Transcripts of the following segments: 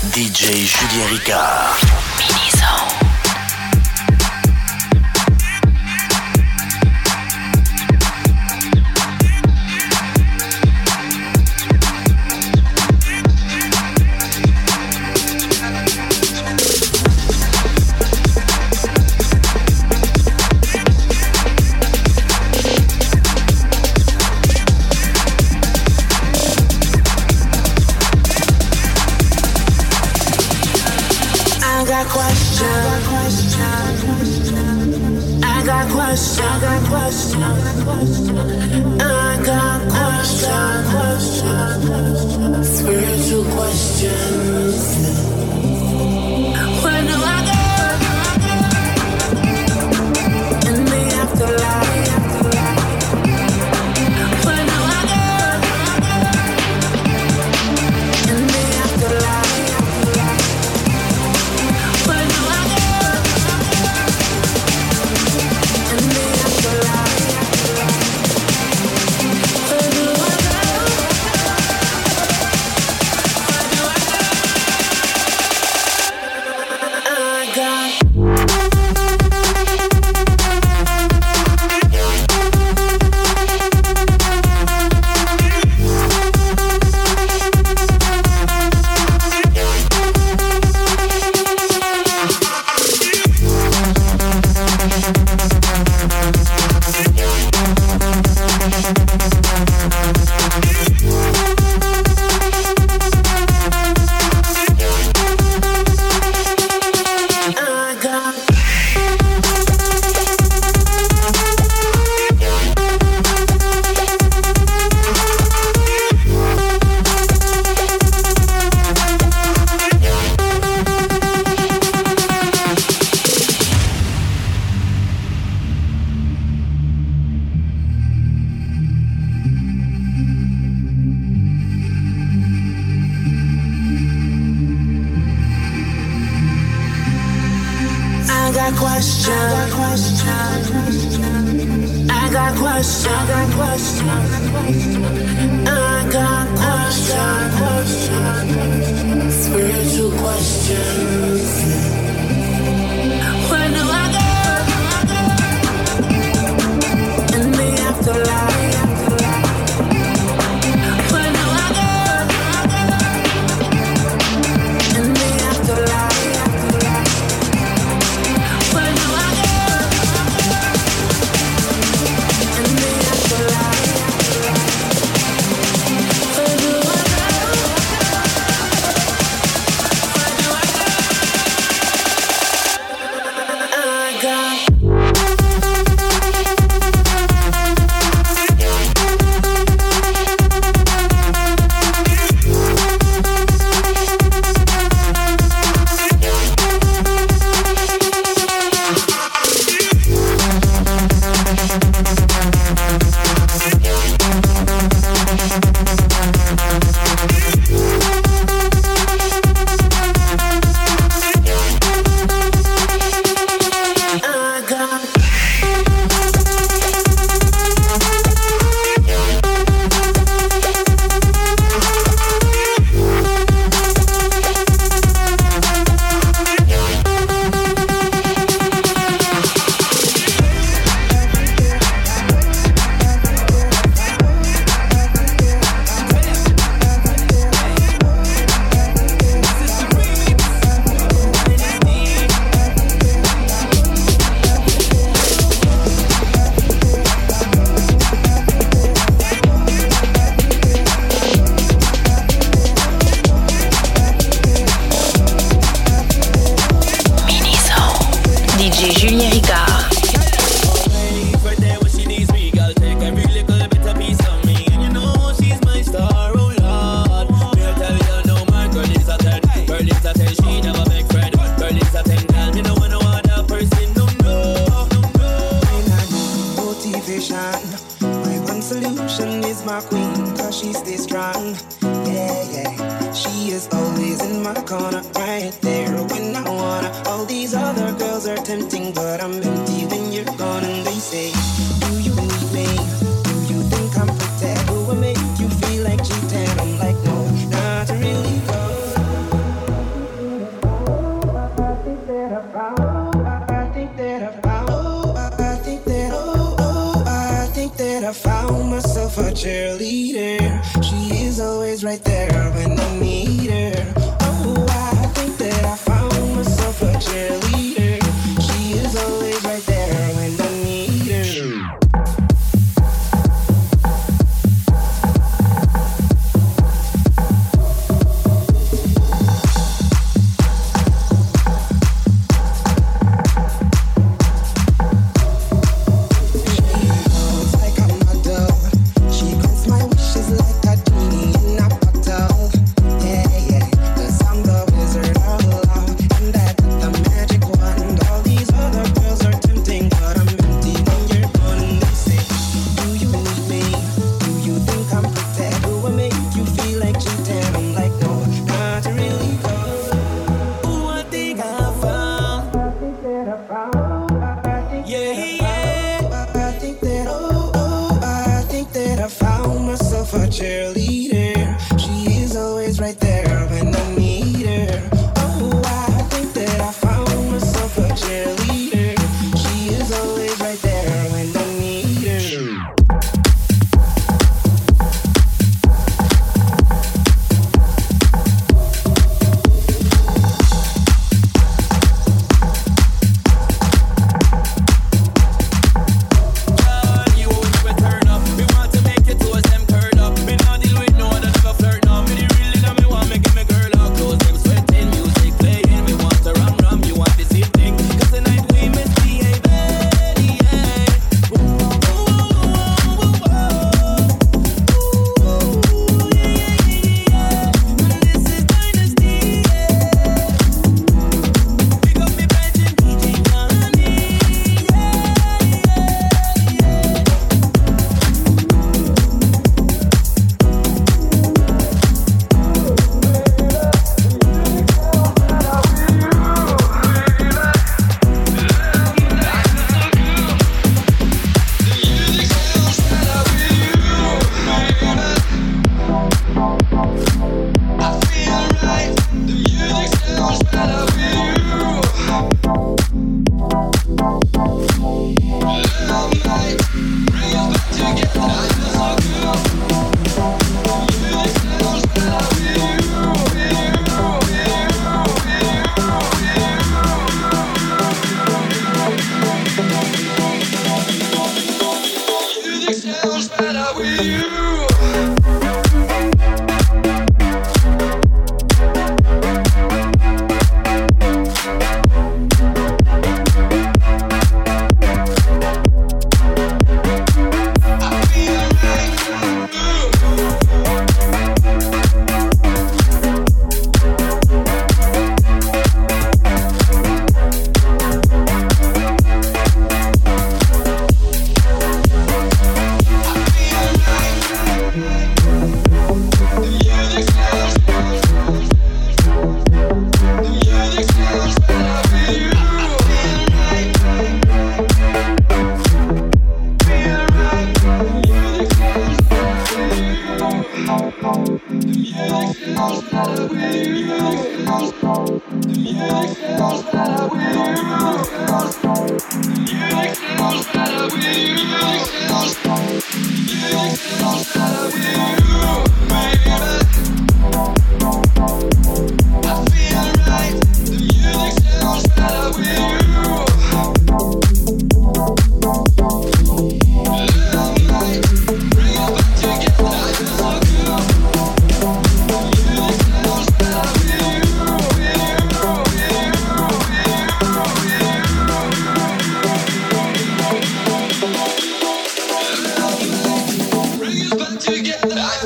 DJ Julien Ricard. Mini-Zone. Spiritual questions. Where do I go? In the afterlife. Where do I go? In the afterlife. Where do I go? In the afterlife. Where do I go? Spiritual questions. Where do I go? In the afterlife. Where do I go? In the afterlife. Where do I go? In the afterlife. Where do I go? myself a cheerleader. She is always right there when I need her. Oh, I think that I found myself a cheerleader. She is always right there when I need her. A cheerleader, she is always right there when I need her. Oh, I think that I found myself a cheerleader. She is always right there when I need her. Together.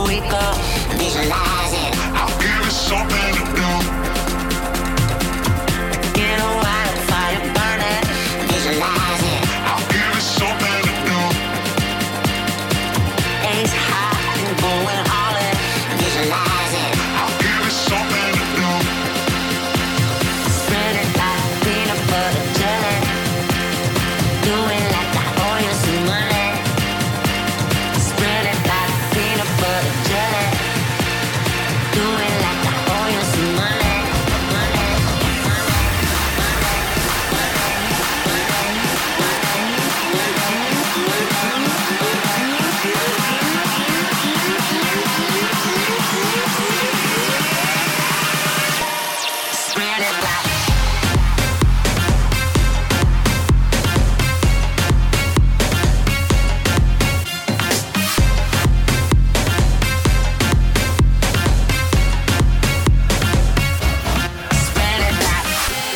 we go. Visualize it. I'll give it something to do. Get a wildfire burning. Visualize it. I'll give it something to do. Ace high and going all in. Visualize it. I'll give it something to do. Spread it like peanut butter jelly. Do it like I owe you some money. Spread it like peanut butter jelly. Do it like I owe you some money. Spread it like spread it like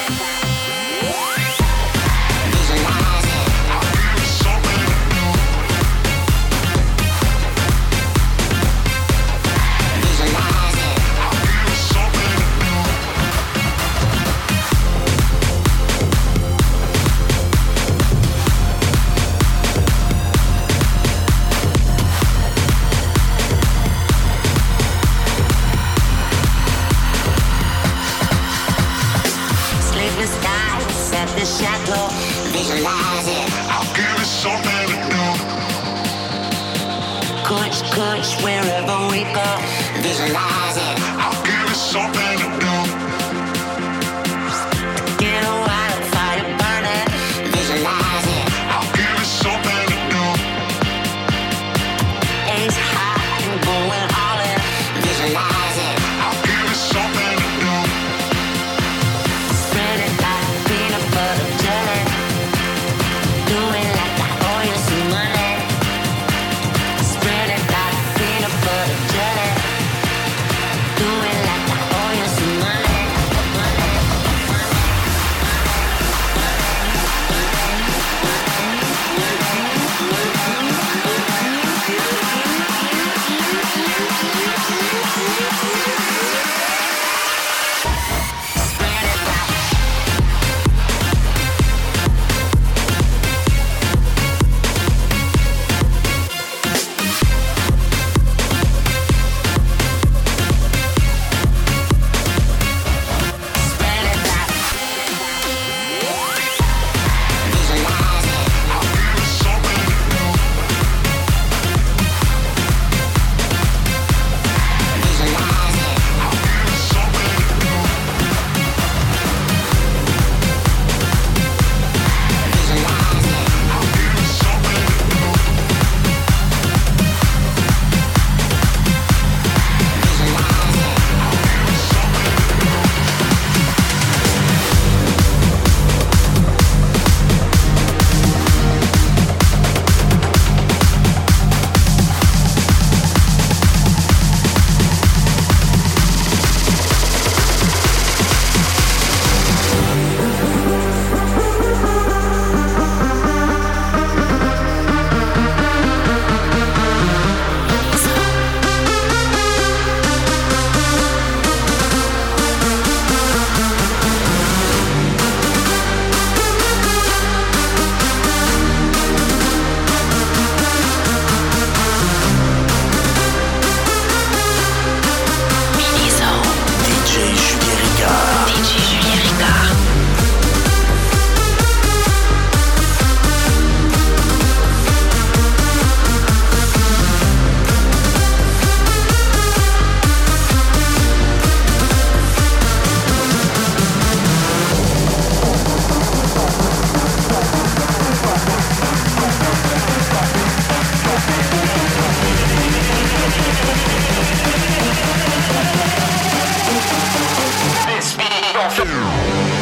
visualize it. I'll give it something to do. Visualize it. I'll give it something to do. Sleepless nights at the chateau. Visualize it. I'll give it something to do. Kush, kush, wherever we go. Visualize it. I'll give it something to do. Get a wildfire burning. Visualize it. I'll give it something to do. Ace high and going all in. Visualize it. I'll give it something to do. Spread it like peanut butter jelly. Do it like I owe you some money. Spread it like peanut butter jelly. Do it like I owe you some money. Spread it like spread it like visualize it. I'll give it something to do. Visualize it. I'll give it something to do. Visualize it. I'll give it something to do. Visualize it. DJ Julien Ricard. DJ Julien Ricard. This beat off.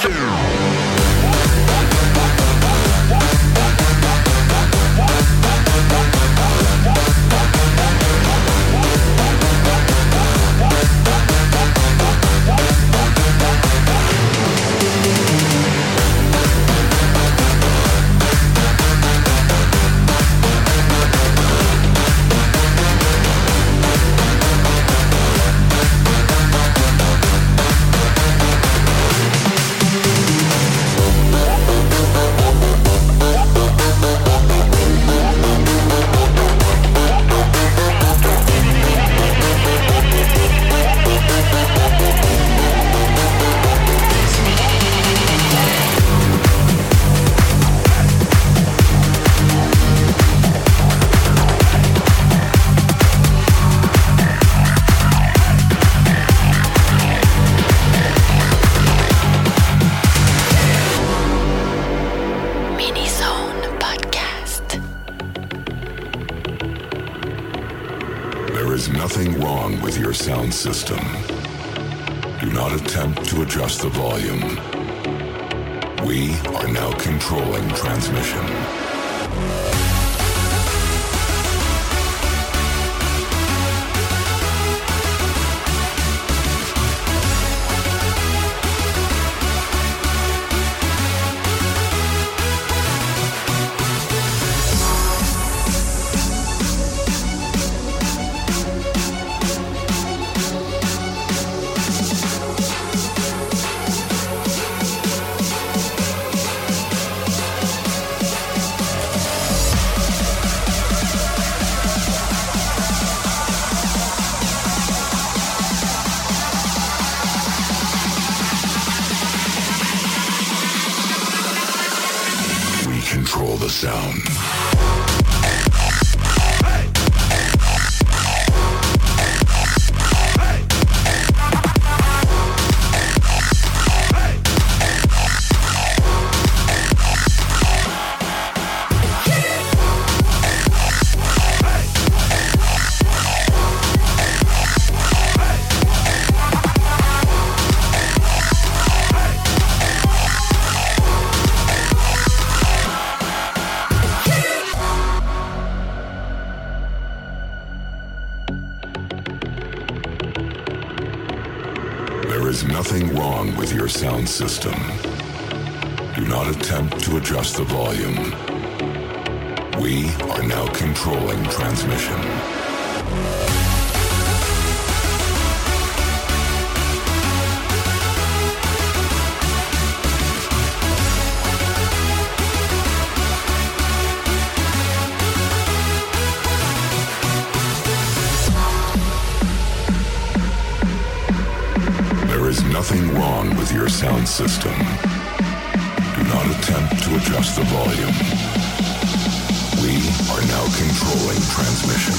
Sound system. Do not attempt to adjust the volume. We are now controlling transmission. Control the sound. There is nothing wrong with your sound system. Do not attempt to adjust the volume. We are now controlling transmission. There is nothing wrong with your sound system. Do not attempt to adjust the volume. We are now controlling transmission.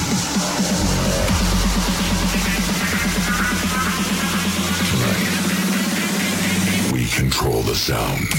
Tonight, we control the sound.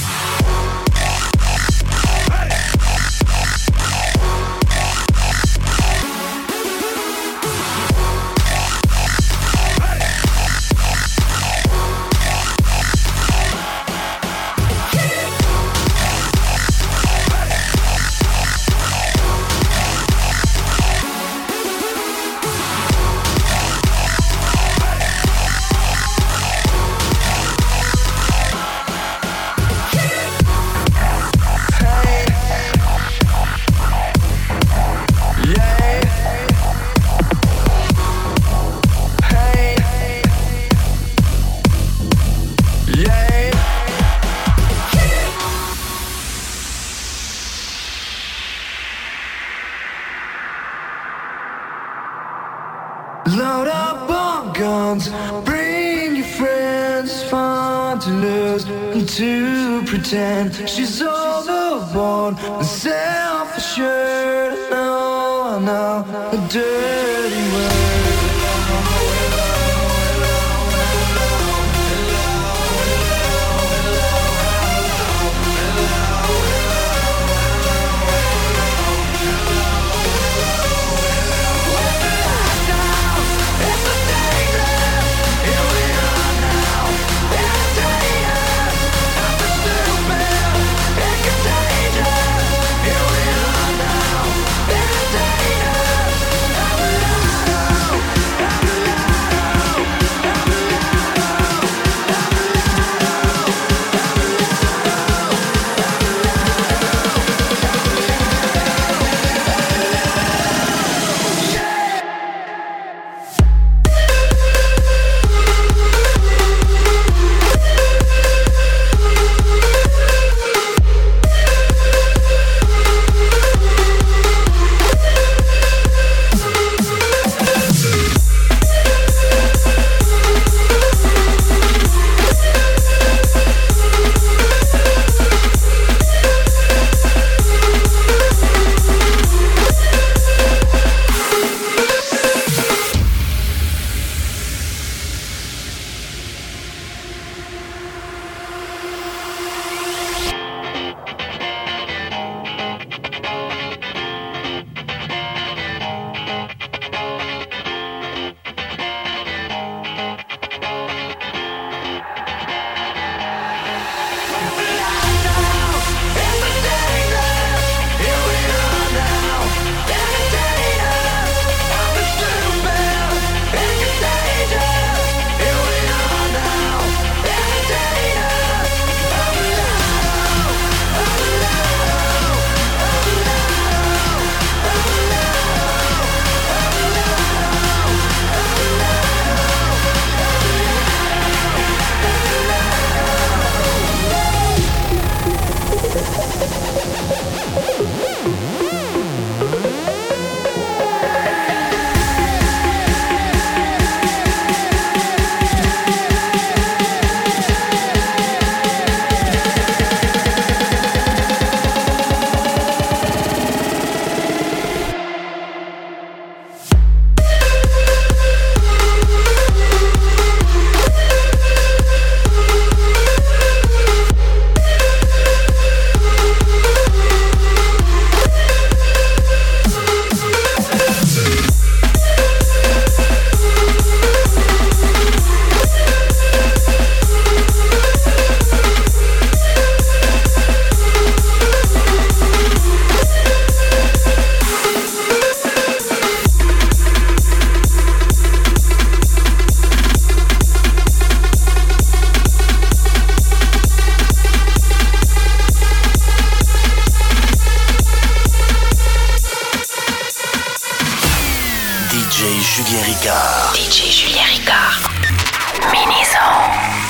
Load up on guns, bring your friends, it's fun to lose and to pretend she's overboard and self-assured. I know a dirty word. Here we are now, it's dangerous. DJ Julien Ricard. DJ Julien Ricard. Mini Zone.